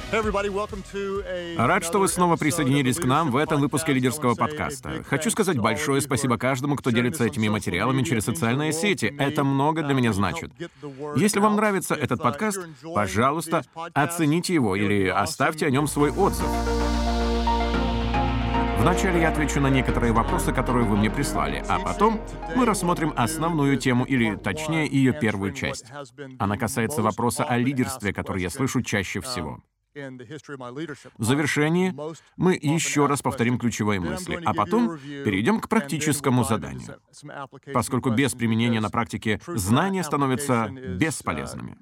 Рад, что вы снова присоединились к нам в этом выпуске лидерского подкаста. Хочу сказать большое спасибо каждому, кто делится этими материалами через социальные сети. Это много для меня значит. Если вам нравится этот подкаст, пожалуйста, оцените его или оставьте о нем свой отзыв. Вначале я отвечу на некоторые вопросы, которые вы мне прислали, а потом мы рассмотрим основную тему, или, точнее, ее первую часть. Она касается вопроса о лидерстве, который я слышу чаще всего. В завершении мы еще раз повторим ключевые мысли, а потом перейдем к практическому заданию, поскольку без применения на практике знания становятся бесполезными.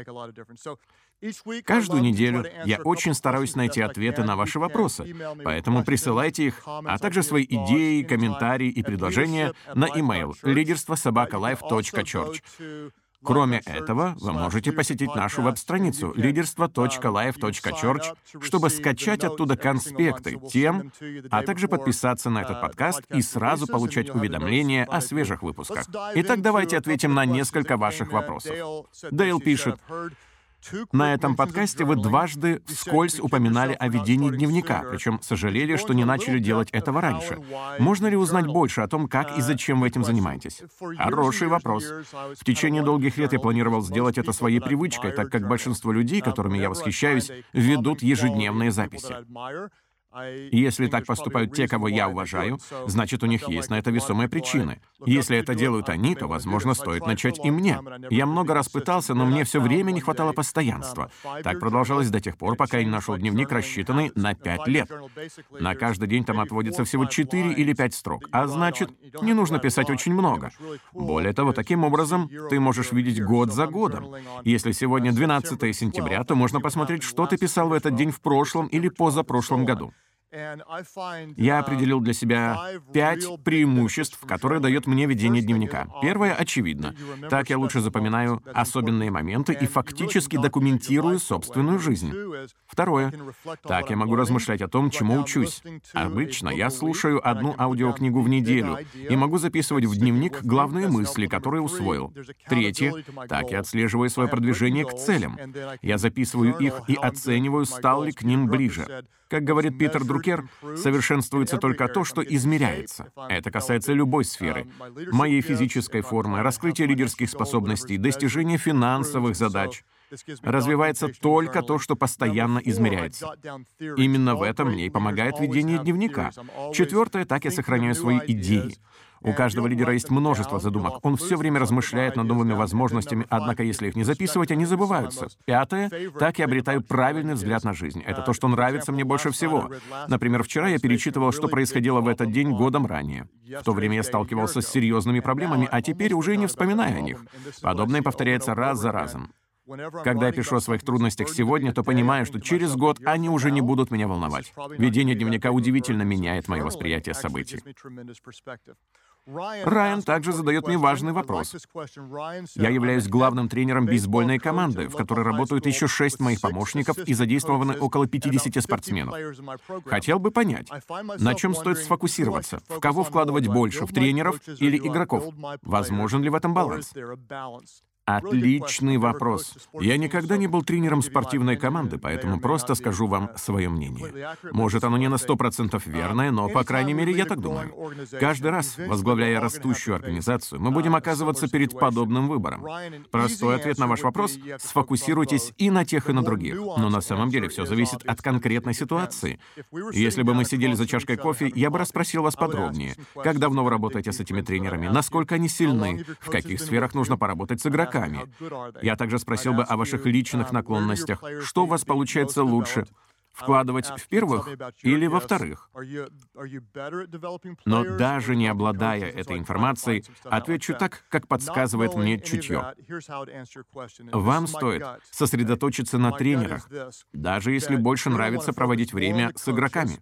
Каждую неделю я очень стараюсь найти ответы на ваши вопросы, поэтому присылайте их, а также свои идеи, комментарии и предложения на email liderstvo@life.church. Кроме этого, вы можете посетить нашу веб-страницу liderstvo.life.church, чтобы скачать оттуда конспекты тем, а также подписаться на этот подкаст и сразу получать уведомления о свежих выпусках. Итак, давайте ответим на несколько ваших вопросов. Дейл пишет: на этом подкасте вы дважды вскользь упоминали о ведении дневника, причем сожалели, что не начали делать этого раньше. Можно ли узнать больше о том, как и зачем вы этим занимаетесь? Хороший вопрос. В течение долгих лет я планировал сделать это своей привычкой, так как большинство людей, которыми я восхищаюсь, ведут ежедневные записи. И если так поступают те, кого я уважаю, значит, у них есть на это весомые причины. Если это делают они, то, возможно, стоит начать и мне. Я много раз пытался, но мне все время не хватало постоянства. Так продолжалось до тех пор, пока я не нашел дневник, рассчитанный на 5 лет. На каждый день там отводится всего 4 или 5 строк, а значит, не нужно писать очень много. Более того, таким образом, ты можешь видеть год за годом. Если сегодня 12 сентября, то можно посмотреть, что ты писал в этот день в прошлом или позапрошлом году. Я определил для себя 5 преимуществ, которые дает мне ведение дневника. Первое очевидно. Так я лучше запоминаю особенные моменты и фактически документирую собственную жизнь. Второе. Так я могу размышлять о том, чему учусь. Обычно я слушаю одну аудиокнигу в неделю и могу записывать в дневник главные мысли, которые усвоил. Третье. Так я отслеживаю свое продвижение к целям. Я записываю их и оцениваю, стал ли к ним ближе. Как говорит Питер Друкер, совершенствуется только то, что измеряется. Это касается любой сферы. Моей физической формы, раскрытия лидерских способностей, достижения финансовых задач. Развивается только то, что постоянно измеряется. Именно в этом мне и помогает ведение дневника. Четвертое, так я сохраняю свои идеи. У каждого лидера есть множество задумок. Он все время размышляет над новыми возможностями, однако если их не записывать, они забываются. Пятое, так я обретаю правильный взгляд на жизнь. Это то, что нравится мне больше всего. Например, вчера я перечитывал, что происходило в этот день годом ранее. В то время я сталкивался с серьезными проблемами, а теперь уже и не вспоминаю о них. Подобное повторяется раз за разом. Когда я пишу о своих трудностях сегодня, то понимаю, что через год они уже не будут меня волновать. Ведение дневника удивительно меняет мое восприятие событий. Райан также задает мне важный вопрос. Я являюсь главным тренером бейсбольной команды, в которой работают еще 6 моих помощников и задействованы около 50 спортсменов. Хотел бы понять, на чем стоит сфокусироваться, в кого вкладывать больше, в тренеров или игроков? Возможен ли в этом баланс? Отличный вопрос. Я никогда не был тренером спортивной команды, поэтому просто скажу вам свое мнение. Может, оно не на 100% верное, но, по крайней мере, я так думаю. Каждый раз, возглавляя растущую организацию, мы будем оказываться перед подобным выбором. Простой ответ на ваш вопрос — сфокусируйтесь и на тех, и на других. Но на самом деле все зависит от конкретной ситуации. Если бы мы сидели за чашкой кофе, я бы расспросил вас подробнее. Как давно вы работаете с этими тренерами? Насколько они сильны? В каких сферах нужно поработать с игроками? Я также спросил бы о ваших личных наклонностях. Что у вас получается лучше? Вкладывать в первых или во вторых? Но даже не обладая этой информацией, отвечу так, как подсказывает мне чутье. Вам стоит сосредоточиться на тренерах, даже если больше нравится проводить время с игроками.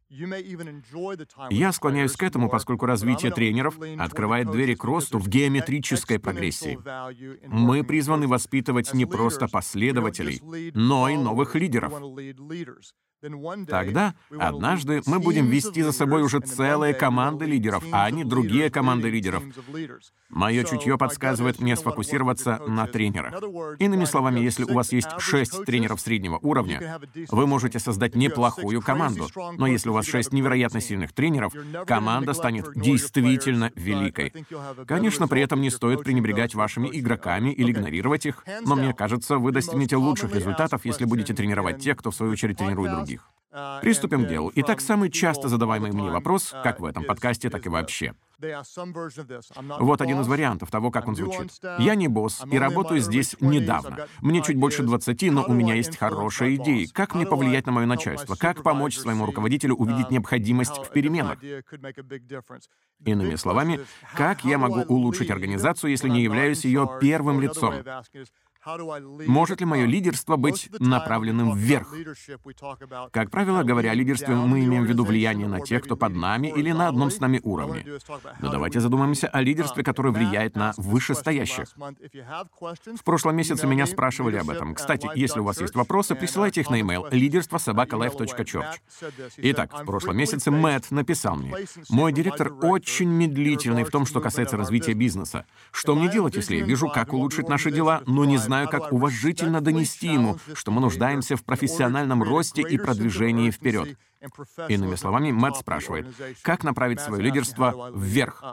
Я склоняюсь к этому, поскольку развитие тренеров открывает двери к росту в геометрической прогрессии. Мы призваны воспитывать не просто последователей, но и новых лидеров. Тогда однажды мы будем вести за собой уже целые команды лидеров, а не другие команды лидеров. Мое чутье подсказывает мне сфокусироваться на тренерах. Иными словами, если у вас есть 6 тренеров среднего уровня, вы можете создать неплохую команду. Но если у вас 6 невероятно сильных тренеров, команда станет действительно великой. Конечно, при этом не стоит пренебрегать вашими игроками или игнорировать их, но мне кажется, вы достигнете лучших результатов, если будете тренировать тех, кто в свою очередь тренирует других. Приступим к делу. Итак, самый часто задаваемый мне вопрос, как в этом подкасте, так и вообще. Вот один из вариантов того, как он звучит. «Я не босс и работаю здесь недавно. Мне чуть больше 20, но у меня есть хорошие идеи. Как мне повлиять на мое начальство? Как помочь своему руководителю увидеть необходимость в переменах?» Иными словами, как я могу улучшить организацию, если не являюсь ее первым лицом? Может ли мое лидерство быть направленным вверх? Как правило, говоря о лидерстве, мы имеем в виду влияние на тех, кто под нами или на одном с нами уровне. Но давайте задумаемся о лидерстве, которое влияет на вышестоящих. В прошлом месяце меня спрашивали об этом. Кстати, если у вас есть вопросы, присылайте их на e-mail leaderstvo@life.church. Итак, в прошлом месяце Мэтт написал мне: «Мой директор очень медлительный в том, что касается развития бизнеса. Что мне делать, если я вижу, как улучшить наши дела, но не знаю, как уважительно донести ему, что мы нуждаемся в профессиональном росте и продвижении вперед?» Иными словами, Мэтт спрашивает, как направить свое лидерство вверх.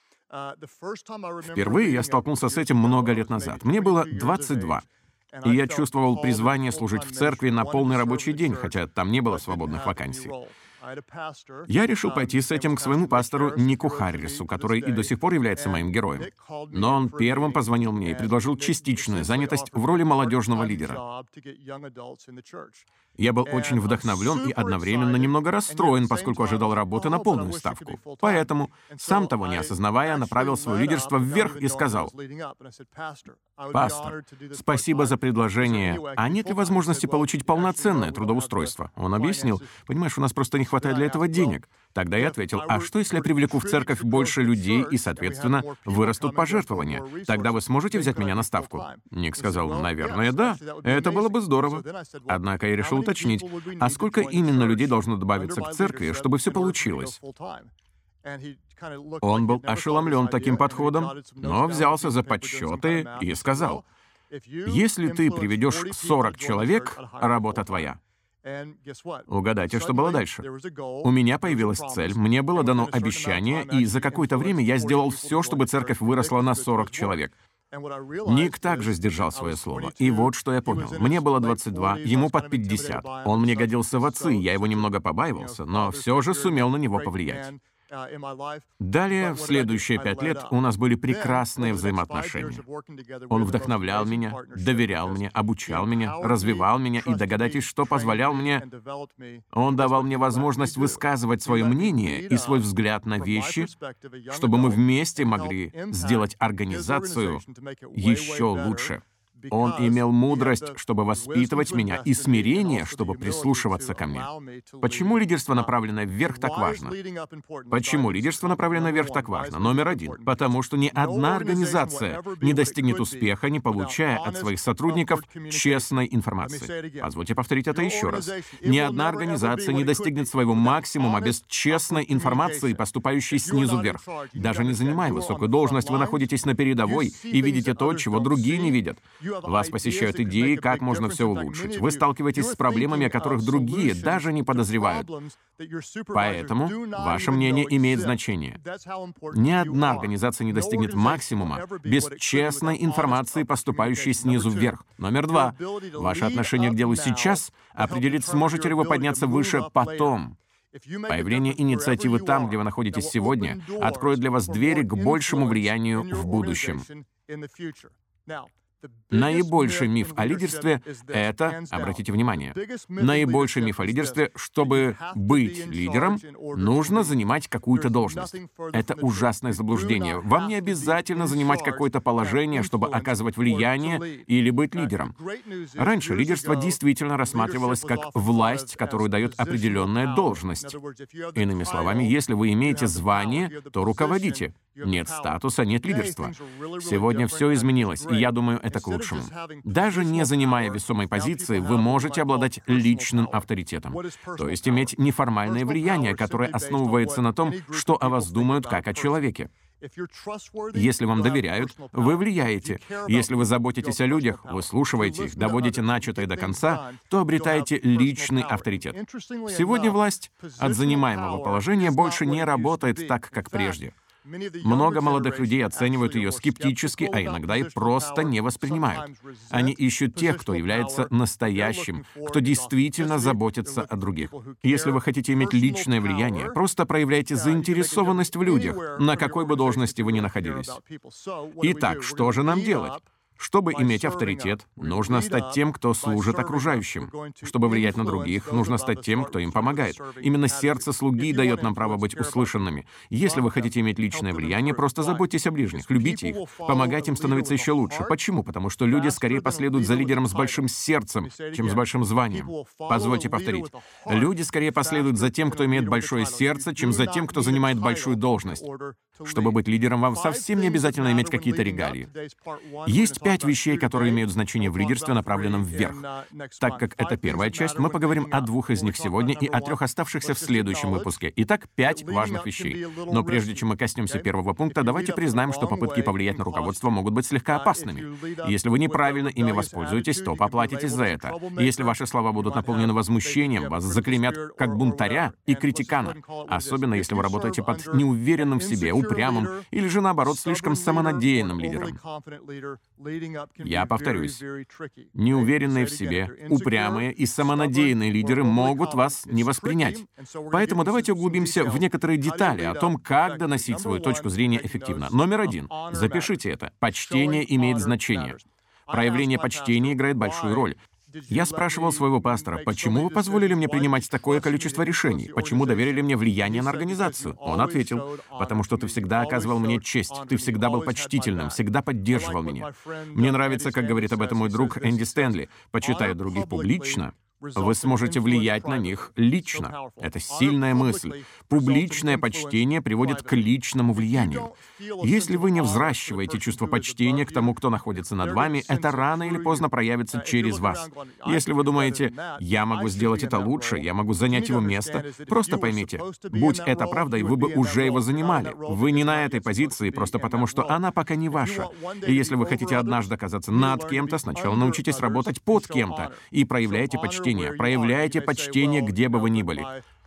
Впервые я столкнулся с этим много лет назад. Мне было 22. И я чувствовал призвание служить в церкви на полный рабочий день, хотя там не было свободных вакансий. Я решил пойти с этим к своему пастору Нику Харрису, который и до сих пор является моим героем. Но он первым позвонил мне и предложил частичную занятость в роли молодежного лидера. Я был очень вдохновлен и одновременно немного расстроен, поскольку ожидал работы на полную ставку. Поэтому, сам того не осознавая, направил свое лидерство вверх и сказал: «Пастор, спасибо за предложение. А нет ли возможности получить полноценное трудоустройство?» Он объяснил: «Понимаешь, у нас просто не хватает для этого денег». Тогда я ответил: «А что, если я привлеку в церковь больше людей и, соответственно, вырастут пожертвования? Тогда вы сможете взять меня на ставку?» Ник сказал: «Наверное, да. Это было бы здорово». Однако я решил уточнить: «А сколько именно людей должно добавиться к церкви, чтобы все получилось?» Он был ошеломлен таким подходом, но взялся за подсчеты и сказал: «Если ты приведешь 40 человек, работа твоя». Угадайте, что было дальше. У меня появилась цель, мне было дано обещание, и за какое-то время я сделал все, чтобы церковь выросла на 40 человек. Ник также сдержал свое слово. И вот что я понял. Мне было 22, ему под 50. Он мне годился в отцы, я его немного побаивался, но все же сумел на него повлиять. Далее, в следующие 5 лет, у нас были прекрасные взаимоотношения. Он вдохновлял меня, доверял мне, обучал меня, развивал меня, и догадайтесь, что позволял мне. Он давал мне возможность высказывать свое мнение и свой взгляд на вещи, чтобы мы вместе могли сделать организацию еще лучше. Он имел мудрость, чтобы воспитывать меня, и смирение, чтобы прислушиваться ко мне. Почему лидерство, направленное вверх, так важно? Почему лидерство, направленное вверх, так важно? Номер 1. Потому что ни одна организация не достигнет успеха, не получая от своих сотрудников честной информации. Позвольте повторить это еще раз. Ни одна организация не достигнет своего максимума без честной информации, поступающей снизу вверх. Даже не занимая высокую должность, вы находитесь на передовой и видите то, чего другие не видят. Вас посещают идеи, как можно все улучшить. Вы сталкиваетесь с проблемами, о которых другие даже не подозревают. Поэтому ваше мнение имеет значение. Ни одна организация не достигнет максимума без честной информации, поступающей снизу вверх. Номер 2. Ваше отношение к делу сейчас определит, сможете ли вы подняться выше потом. Появление инициативы там, где вы находитесь сегодня, откроет для вас двери к большему влиянию в будущем. Наибольший миф о лидерстве — это, обратите внимание, наибольший миф о лидерстве, чтобы быть лидером, нужно занимать какую-то должность. Это ужасное заблуждение. Вам не обязательно занимать какое-то положение, чтобы оказывать влияние или быть лидером. Раньше лидерство действительно рассматривалось как власть, которую дает определенная должность. Иными словами, если вы имеете звание, то руководите. Нет статуса, нет лидерства. Сегодня все изменилось, и я думаю, это к лучшему. Даже не занимая весомой позиции, вы можете обладать личным авторитетом, то есть иметь неформальное влияние, которое основывается на том, что о вас думают как о человеке. Если вам доверяют, вы влияете. Если вы заботитесь о людях, выслушиваете их, доводите начатое до конца, то обретаете личный авторитет. Сегодня власть от занимаемого положения больше не работает так, как прежде. Много молодых людей оценивают ее скептически, а иногда и просто не воспринимают. Они ищут тех, кто является настоящим, кто действительно заботится о других. Если вы хотите иметь личное влияние, просто проявляйте заинтересованность в людях, на какой бы должности вы ни находились. Итак, что же нам делать? Чтобы иметь авторитет, нужно стать тем, кто служит окружающим. Чтобы влиять на других, нужно стать тем, кто им помогает. Именно сердце слуги дает нам право быть услышанными. Если вы хотите иметь личное влияние, просто заботьтесь о ближних, любите их, помогайте им становиться еще лучше. Почему? Потому что люди скорее последуют за лидером с большим сердцем, чем с большим званием. Позвольте повторить. Люди скорее последуют за тем, кто имеет большое сердце, чем за тем, кто занимает большую должность. Чтобы быть лидером, вам совсем не обязательно иметь какие-то регалии. Есть 5 вещей, которые имеют значение в лидерстве, направленном вверх. Так как это первая часть, мы поговорим о 2 из них сегодня и о 3 оставшихся в следующем выпуске. Итак, 5 важных вещей. Но прежде чем мы коснемся первого пункта, давайте признаем, что попытки повлиять на руководство могут быть слегка опасными. Если вы неправильно ими воспользуетесь, то поплатитесь за это. И если ваши слова будут наполнены возмущением, вас заклеймят как бунтаря и критикана. Особенно, если вы работаете под неуверенным в себе, упрямым или же, наоборот, слишком самонадеянным лидером. Я повторюсь, неуверенные в себе, упрямые и самонадеянные лидеры могут вас не воспринять. Поэтому давайте углубимся в некоторые детали о том, как доносить свою точку зрения эффективно. Номер 1. Запишите это. Почтение имеет значение. Проявление почтения играет большую роль. Я спрашивал своего пастора, почему вы позволили мне принимать такое количество решений? Почему доверили мне влияние на организацию? Он ответил, потому что ты всегда оказывал мне честь, ты всегда был почтительным, всегда поддерживал меня. Мне нравится, как говорит об этом мой друг Энди Стэнли, почитая других публично, вы сможете влиять на них лично. Это сильная мысль. Публичное почтение приводит к личному влиянию. Если вы не взращиваете чувство почтения к тому, кто находится над вами, это рано или поздно проявится через вас. Если вы думаете, я могу сделать это лучше, я могу занять его место, просто поймите, будь это правдой, вы бы уже его занимали. Вы не на этой позиции, просто потому что она пока не ваша. И если вы хотите однажды оказаться над кем-то, сначала научитесь работать под кем-то и проявляйте почтение. Проявляйте почтение, где бы вы ни были.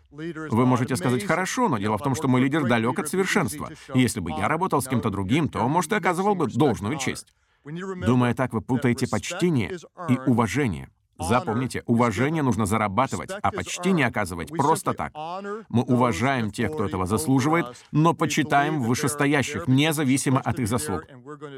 Вы можете сказать «хорошо», но дело в том, что мой лидер далек от совершенства. И если бы я работал с кем-то другим, то, может, и оказывал бы должную честь. Думая так, вы путаете почтение и уважение. Запомните, уважение нужно зарабатывать, а почтение оказывать просто так. Мы уважаем тех, кто этого заслуживает, но почитаем вышестоящих, независимо от их заслуг.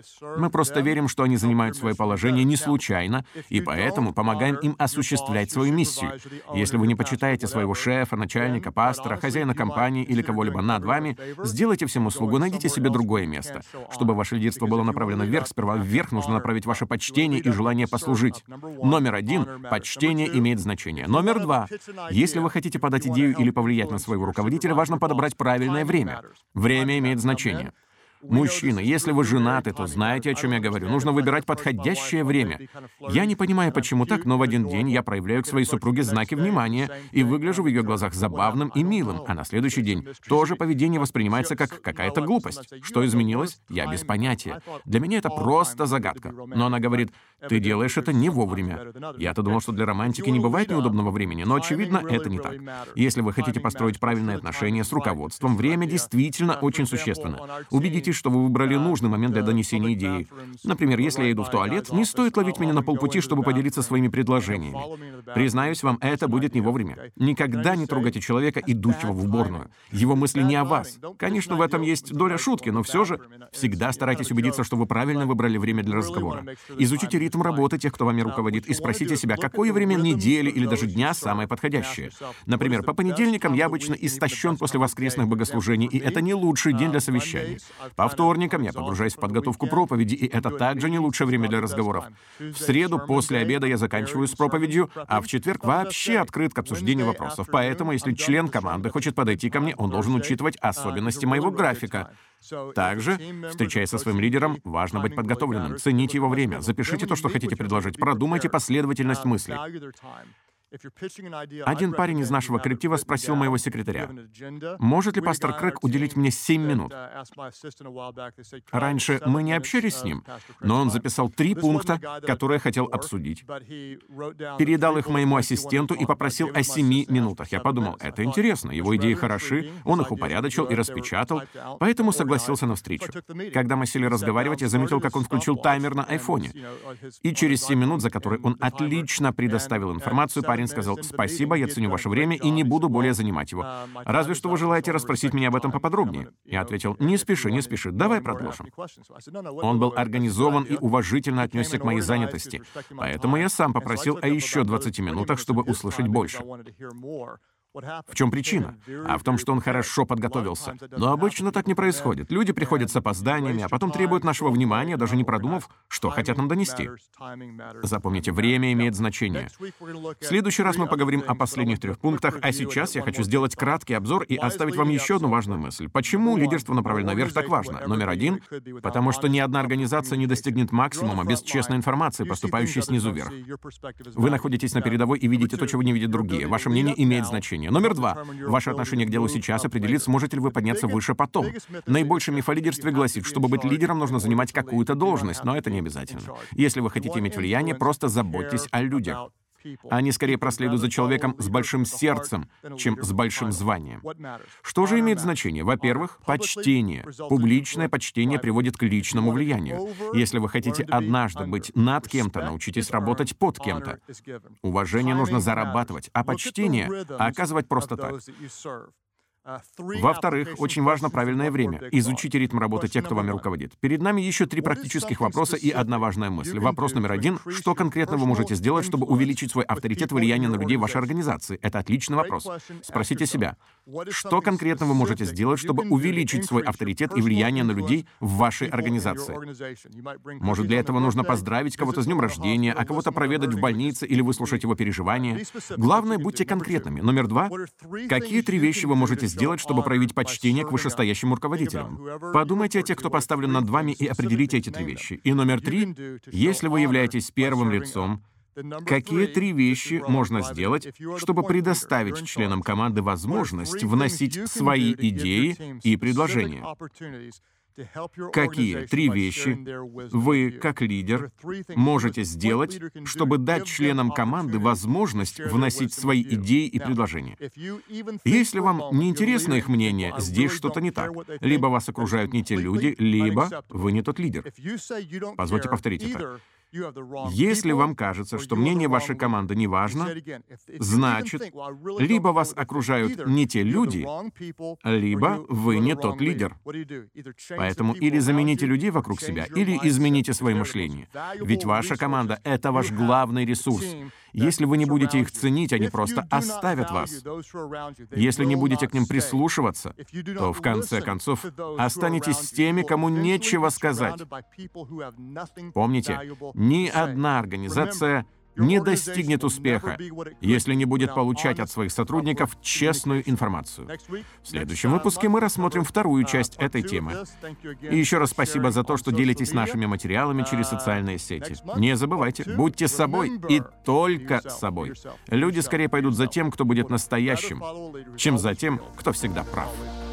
Мы просто верим, что они занимают свое положение не случайно, и поэтому помогаем им осуществлять свою миссию. Если вы не почитаете своего шефа, начальника, пастора, хозяина компании или кого-либо над вами, сделайте всем услугу, найдите себе другое место. Чтобы ваше лидерство было направлено вверх, сперва вверх нужно направить ваше почтение и желание послужить. Номер 1. Почтение имеет значение. Номер 2. Если вы хотите подать идею или повлиять на своего руководителя, важно подобрать правильное время. Время имеет значение. Мужчины, если вы женаты, то знаете, о чем я говорю. Нужно выбирать подходящее время. Я не понимаю, почему так, но в один день я проявляю к своей супруге знаки внимания и выгляжу в ее глазах забавным и милым, а на следующий день тоже поведение воспринимается как какая-то глупость. Что изменилось? Я без понятия. Для меня это просто загадка. Но она говорит, ты делаешь это не вовремя. Я-то думал, что для романтики не бывает неудобного времени, но, очевидно, это не так. Если вы хотите построить правильные отношения с руководством, время действительно очень существенно. Убедитесь, что вы выбрали нужный момент для донесения идеи. Например, если я иду в туалет, не стоит ловить меня на полпути, чтобы поделиться своими предложениями. Признаюсь вам, это будет не вовремя. Никогда не трогайте человека, идущего в уборную. Его мысли не о вас. Конечно, в этом есть доля шутки, но все же всегда старайтесь убедиться, что вы правильно выбрали время для разговора. Изучите ритм работы тех, кто вами руководит, и спросите себя, какое время недели или даже дня самое подходящее. Например, по понедельникам я обычно истощен после воскресных богослужений, и это не лучший день для совещаний. По вторникам я погружаюсь в подготовку проповеди, и это также не лучшее время для разговоров. В среду после обеда я заканчиваю с проповедью, а в четверг вообще открыт к обсуждению вопросов. Поэтому, если член команды хочет подойти ко мне, он должен учитывать особенности моего графика. Также, встречаясь со своим лидером, важно быть подготовленным. Цените его время. Запишите то, что хотите предложить. Продумайте последовательность мыслей. Один парень из нашего коллектива спросил моего секретаря: «Может ли пастор Крэг уделить мне 7 минут?» Раньше мы не общались с ним, но он записал 3 пункта, которые хотел обсудить. Передал их моему ассистенту и попросил о 7 минутах. Я подумал, это интересно, его идеи хороши, он их упорядочил и распечатал, поэтому согласился на встречу. Когда мы сели разговаривать, я заметил, как он включил таймер на айфоне. И через 7 минут, за которые он отлично предоставил информацию, парень сказал: «Спасибо, я ценю ваше время и не буду более занимать его. Разве что вы желаете расспросить меня об этом поподробнее?» Я ответил: «Не спеши, не спеши, давай продолжим». Он был организован и уважительно отнесся к моей занятости, поэтому я сам попросил о еще 20 минутах, чтобы услышать больше. В чем причина? А в том, что он хорошо подготовился. Но обычно так не происходит. Люди приходят с опозданиями, а потом требуют нашего внимания, даже не продумав, что хотят нам донести. Запомните, время имеет значение. В следующий раз мы поговорим о последних 3 пунктах, а сейчас я хочу сделать краткий обзор и оставить вам еще одну важную мысль. Почему лидерство направлено наверх так важно? Номер 1 — потому что ни одна организация не достигнет максимума без честной информации, поступающей снизу вверх. Вы находитесь на передовой и видите то, чего не видят другие. Ваше мнение имеет значение. Номер 2. Ваше отношение к делу сейчас определит, сможете ли вы подняться выше потом. Наибольший миф о лидерстве гласит, чтобы быть лидером, нужно занимать какую-то должность, но это не обязательно. Если вы хотите иметь влияние, просто заботьтесь о людях. Они скорее проследуют за человеком с большим сердцем, чем с большим званием. Что же имеет значение? Во-первых, почтение. Публичное почтение приводит к личному влиянию. Если вы хотите однажды быть над кем-то, научитесь работать под кем-то. Уважение нужно зарабатывать, а почтение оказывать просто так. Во-вторых, очень важно правильное время. Изучите ритм работы тех, кто вами руководит. Перед нами еще 3 практических вопроса и одна важная мысль. Вопрос номер 1. Что конкретно вы можете сделать, чтобы увеличить свой авторитет и влияние на людей в вашей организации? Это отличный вопрос. Спросите себя, что конкретно вы можете сделать, чтобы увеличить свой авторитет и влияние на людей в вашей организации? Может, для этого нужно поздравить кого-то с днем рождения, а кого-то проведать в больнице или выслушать его переживания? Главное, будьте конкретными. Номер 2. Какие 3 вещи вы можете сделать, чтобы проявить почтение к вышестоящим руководителям? Подумайте о тех, кто поставлен над вами, и определите эти 3 вещи. И номер 3. Если вы являетесь первым лицом, какие 3 вещи можно сделать, чтобы предоставить членам команды возможность вносить свои идеи и предложения? Какие 3 вещи вы, как лидер, можете сделать, чтобы дать членам команды возможность вносить свои идеи и предложения? Если вам не интересно их мнение, здесь что-то не так. Либо вас окружают не те люди, либо вы не тот лидер. Позвольте повторить это. Если вам кажется, что мнение вашей команды не важно, значит, либо вас окружают не те люди, либо вы не тот лидер. Поэтому или замените людей вокруг себя, или измените свое мышление. Ведь ваша команда — это ваш главный ресурс. Если вы не будете их ценить, они просто оставят вас. Если не будете к ним прислушиваться, то в конце концов останетесь с теми, кому нечего сказать. Помните, ни одна организация не достигнет успеха, если не будет получать от своих сотрудников честную информацию. В следующем выпуске мы рассмотрим вторую часть этой темы. И еще раз спасибо за то, что делитесь нашими материалами через социальные сети. Не забывайте, будьте собой и только собой. Люди скорее пойдут за тем, кто будет настоящим, чем за тем, кто всегда прав.